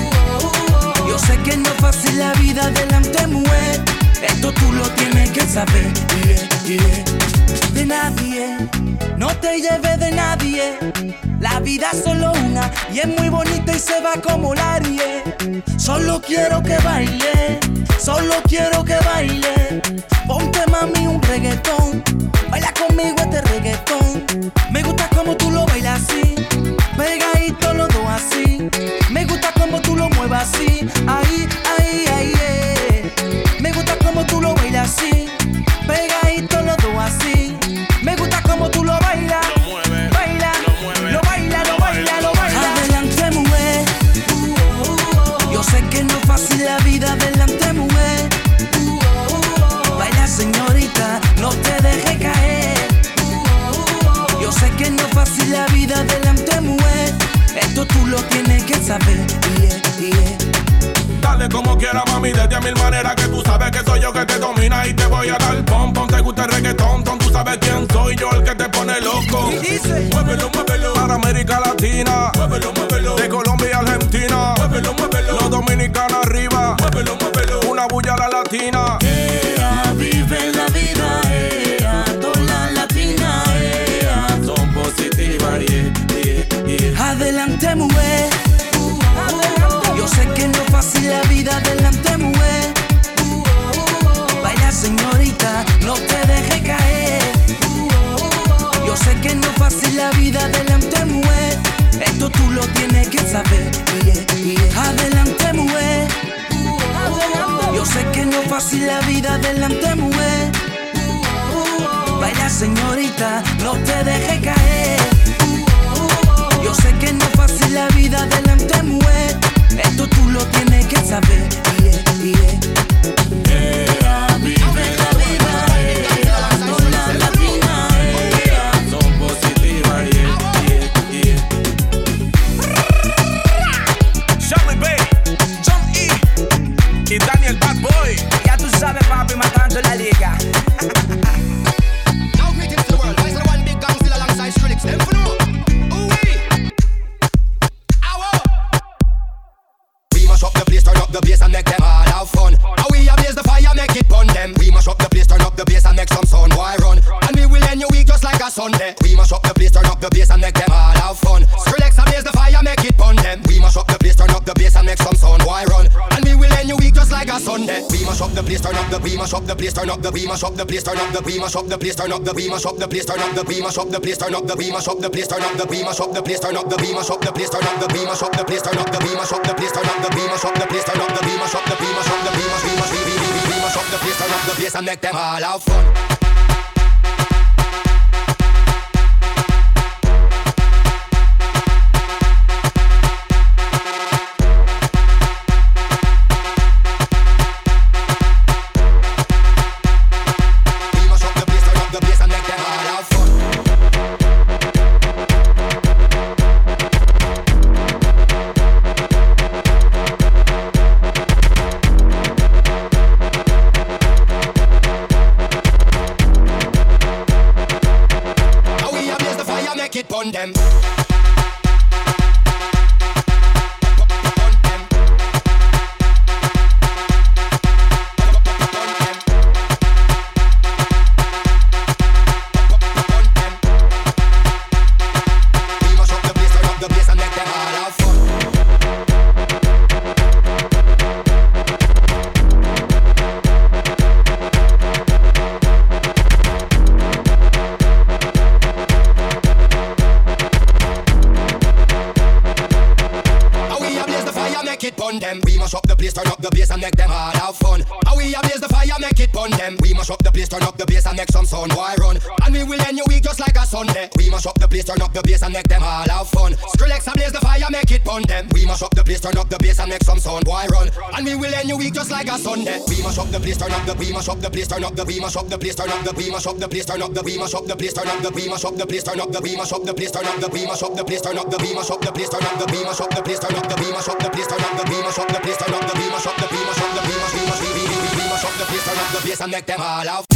Yo sé que no es fácil la vida, adelante, mujer. Esto tú lo tienes que saber. Yeah, yeah. De nadie, no te lleves de nadie. La vida es solo una y es muy bonita y se va como la aire. Solo quiero que baile, solo quiero que baile. Ponte mami un reggaetón, baila conmigo este reggaetón. Me gusta como tú lo bailas así, pegadito los dos así. Me gusta como tú lo muevas así, ahí, ahí, ahí, eh. Me gusta como tú lo bailas así, pegadito los dos así. Me gusta como tú lo bailas, lo mueve, baila, lo mueve, lo baila, lo baila, lo baila. Adelante, mujer. Yo sé que no es fácil la vida, adelante, mujer. Baila, señorita, no te dejes caer. Yo sé que no es fácil la vida, adelante, mujer. Esto tú lo tienes que saber. Yeah, yeah. Dale como quiera, mami, desde mil maneras. Que tú sabes que soy yo que te domina y te voy a dar pom pom. Te gusta el reggaetón, ton, tú sabes quién soy yo, el que te pone loco. Muévelo, muévelo, para América Latina. Muévelo, muévelo, de Colombia a Argentina. Muévelo, muévelo, los dominicanos arriba. Muévelo, muévelo, una bulla a la latina. Ea, vive la vida, ea, toda la latina, ea, son positivas, yeah, yeah, yeah. Adelante, mujer. Yo sé que no es fácil la vida, adelante, mujer. Baila, señorita, no te dejes caer. Yo sé que no es fácil la vida, adelante, mujer. Esto tú lo tienes que saber. Yeah, yeah. Adelante, mujer. Yo sé que no es fácil la vida, adelante, mujer. Baila, señorita, no te dejes caer. Yo sé que no es fácil la vida, adelante, mujer. Esto tú lo tienes que saber. Yeah, yeah. Ea, vive la vida, ea, con la latina, ea, son positivas, yeah, yeah, yeah. Charlie Bay, John E y Daniel Bad Boy. Ya tú sabes, papi, matando la liga. Now greetings to the world. I said one big gang still alongside Skrillex. Them for no. Up the place, turn up the bass and make them all have fun. And we ablaze the fire, make it burn them. We mash up the place, turn up the bass and make some sound, boy run. And we will end your week just like a Sunday. We mash up the place, turn up the bass and make them all have fun. Skrillex ablaze the fire, make it burn them. We mash up the place, turn up the bass and make some sound, boy run. And we will end your week just like a Sunday. We mash up the place, turn up the, we mash up the place, turn up the, we mash up the place, turn up the, we mash up the place, turn up the, we mash up the place, turn up the, we mash up the place, turn up the, we mash up the place, turn up the, we mash up the place, turn up the, we mash up the place, turn up the, we mash up the place, turn up the, we mash up the place, turn up the, we mash up the place, turn up the, we mash up the, we mash up the, we mash, we mash, we, we, we, we mash up the place, turn up the place and make them all have fun. Burn them. have fun. And we ablaze the fire, make it burn them. We mash up the place, turn up the bass and make some sound. Why run? And we will end your week just like a Sunday. We mash up the place, turn up the bass and make them all have fun. Skrillex ablaze the fire, make it burn them. We mash up the place, turn up the bass and make some sound. Why run? And we will end your week just like a Sunday. We mash up the place, turn up the, we mash up the place, turn up the, we mash up the place, turn up the, we mash up the place, turn up the, we mash up the place, turn up the, we mash up the place, turn up the, we mash up the place, turn up the, we mash up the place, turn up the, we mash up the place, turn up the, we mash up the place, turn up the, we mash up the place, turn up the, we mash up the place, turn up the, we mash up the, we mash up the, we mash, we mash, we, we, we, we mash up the place, turn up the bass and make them all have.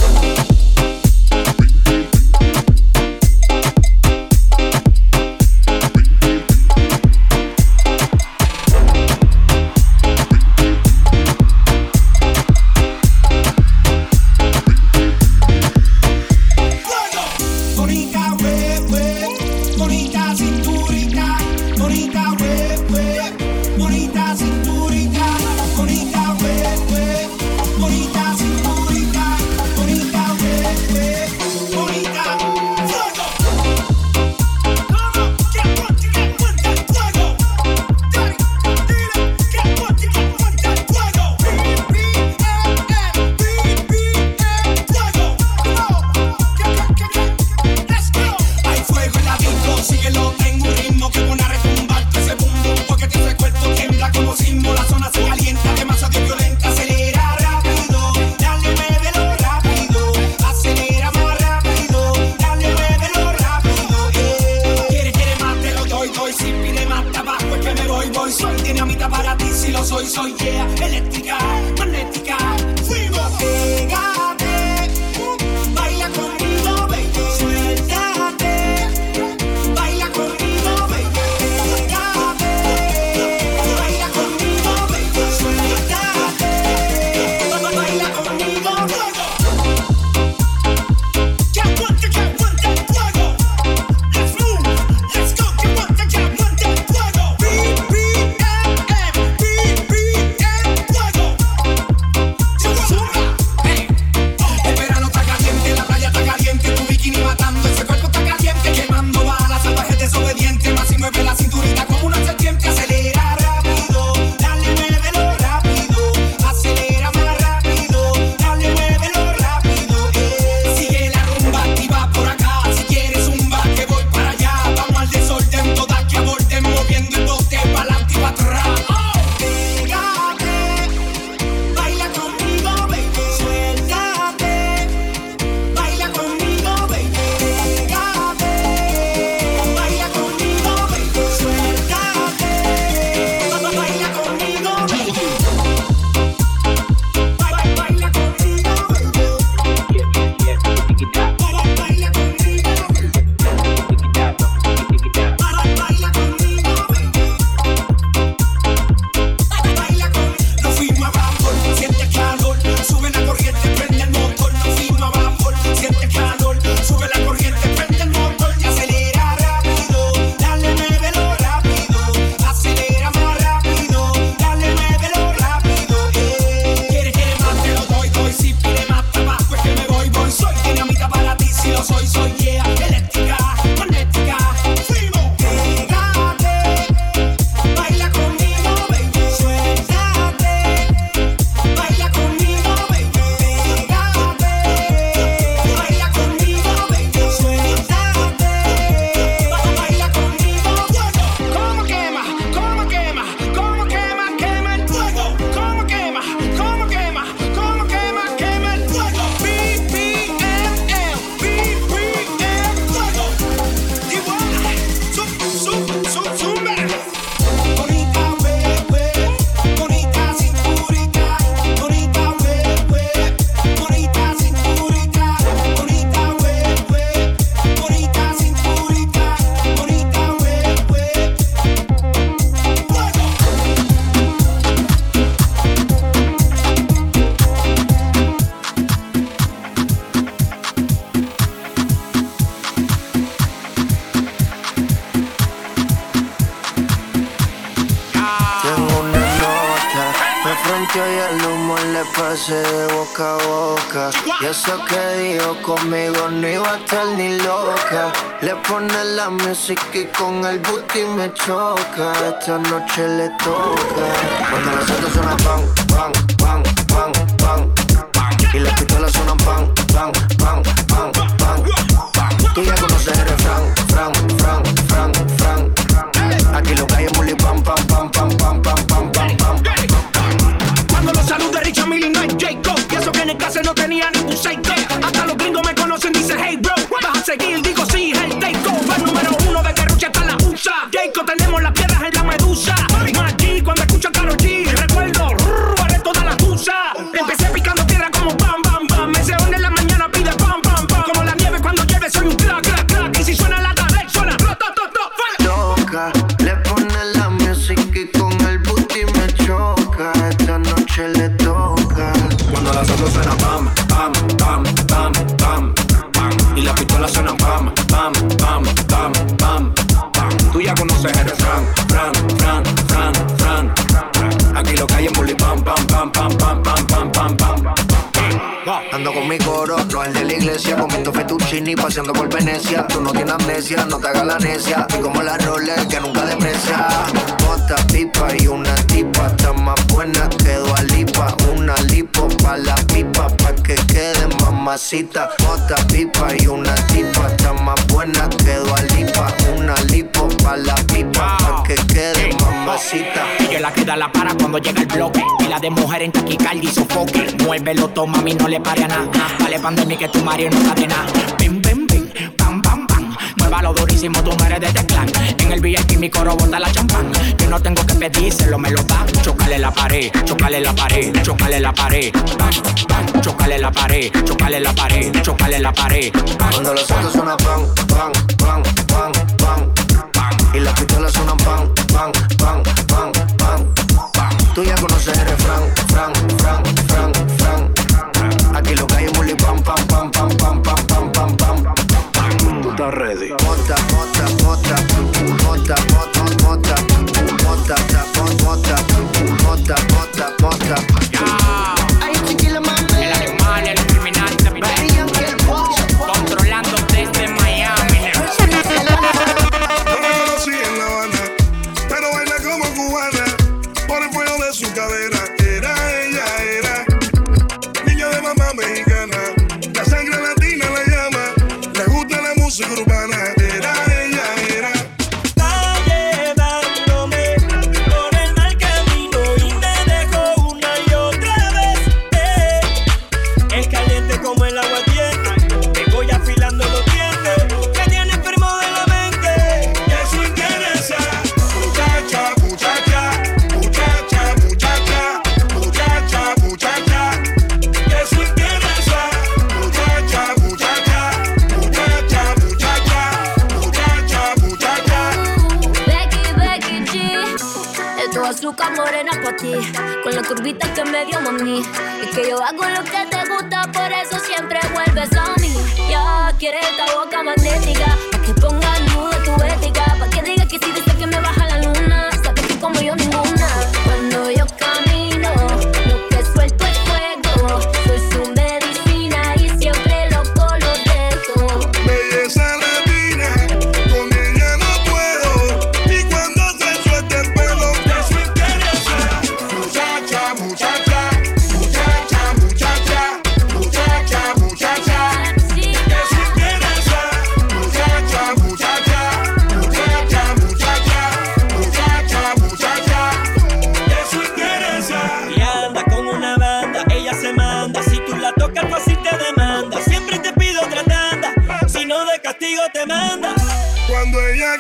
pasé de boca a boca. Y eso que dijo conmigo no iba a estar ni loca. Le pone la música y con el booty me choca. Esta noche le toca. Cuando las autos suenan pan, pan, pan, pan. clase no tenía ningún seito. Hasta los gringos me conocen, dicen hey bro. Vas a seguir, digo sí, el takeover número uno de Guerrucha hasta la U S A. Jacob, tenemos las piedras en la medusa. Maggi, cuando escucho a Karol G, recuerdo, haré toda la tusa. Empecé picando piedra como bam, bam, bam. Me se hunde en la mañana, pide pam, pam, pam. Como la nieve cuando llueve, soy un crack, crack, crack. Y si suena la tarde, suena to, to, to, to. Toca, le pone la música y con el booty me choca. Esta noche le toca. Cuando las autos suenan pam, pam, pam, pam, pam, pam. Y las pistolas suenan pam, pam, pam, pam, pam, pam. Tú ya conoces el refrán, fran, fran, fran, fran, fran. Aquí lo que hay en bully pam, pam, pam, pam, pam, pam, pam, pam, pam. Ando con mi coro, no el de la iglesia, comiendo fettuccini, paseando por Venecia. Tú no tienes amnesia, no te hagas la necia. Y como la Rolex que nunca deprecia. Bota pipa y una tipa, está más buena que Dua Lipa. Una lipo pa' la pipa, pa' que quede mamacita. Bota pipa y una tipa, está más buena que Dua Lipa. Una lipo pa' la pipa, pa' que quede mamacita. Que la queda la para cuando llega el bloque. Y la de mujer en taquicardia y sofoque. Muévelo, toma, mami, no le pare a nada. Vale pandemia que tu Mario no sabe nada. Bim, bim, bim, pam, pam, pam. Muévalo durísimo, tú no eres de este clan. En el V I P mi coro bota la champán. Yo no tengo que pedírselo, me lo da. Chocale la pared, chocale la pared, chocale la pared. Bam, bam, chocale la pared, chocale la pared, chocale la pared. Cuando los autos suenan pan, pan, pan, pan, pan, pan. Y las pistolas suenan pan, pan, pan, pan, pan, pan. Tú ya conoces el refrán, fran, fran, fran, fran. Aquí lo que hay es bully pam, pam, pam, pam, pam, pam, pam, pam, pam. Tú estás ready. Bota, bota, bota, bota, bota, bota, bota, bota, bota, bota, bota. Ay, chiquila, mami. El animal, el criminal, también. Controlando desde Miami. Yo la conocí en La Habana, pero baila como cubana. Por el fuego de su cadera. Era ella, era niña de mamá mexicana. La sangre latina la llama. Le gusta la música urbana. Era ella, era. Está llevándome por el mal camino y me dejó una y otra vez. Eh. Es caliente como el agua tiene. Te voy afilando los dientes. Que tiene enfermo de la mente. Que eso interesa. Muchacha, muchacha, muchacha, muchacha, muchacha, muchacha. Que eso interesa. Muchacha, muchacha, muchacha, muchacha, muchacha, muchacha. Becky, Becky G. Esto es azúcar morena pa' ti. Con la curvita que me dio mami. Y que yo hago lo que te gusta, por eso siempre vuelves a mí. Ya quieres esta boca magnética. Pa' que ponga nudo tu ética. Pa' que diga que si dice que me baja la luna. Sabes que como yo ninguna. Cuando yo camino, lo que suelto es fuego. Soy su medicina y siempre loco lo dejo. Belleza latina, con ella no puedo. Y cuando se suelta el pelo, que eso interesa. Muchacha, muchacha, muchacha, muchacha, muchacha, muchacha. Que eso interesa. Muchacha, muchacha, muchacha, muchacha, muchacha, muchacha. Que eso interesa. Y anda con una banda, ella se manda. Si tú la tocas, fácil te demanda. Siempre te pido otra tanda. Si no, de castigo te manda. Cuando ella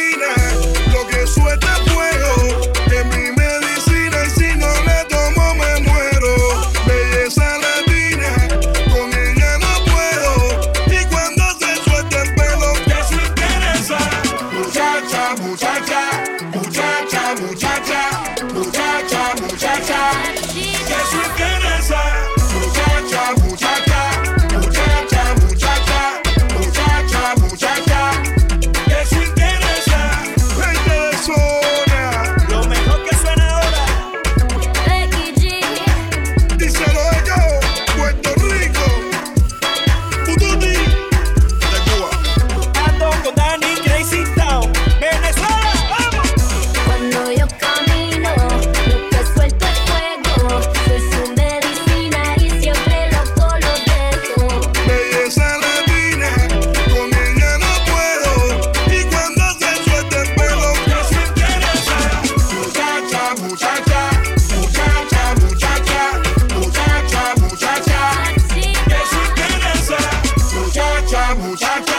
camina, lo que suelta es fuego. Es mi medicina y si no la tomo me muero. Belleza latina, con ella no puedo. Y cuando se suelta el pelo, que eso interesa. Muchacha, muchacha, muchacha, muchacha, muchacha, muchacha. Que eso interesa. Muchacha, muchacha, muchacha, muchacha, muchacha, muchacha. Que eso interesa. muchacha.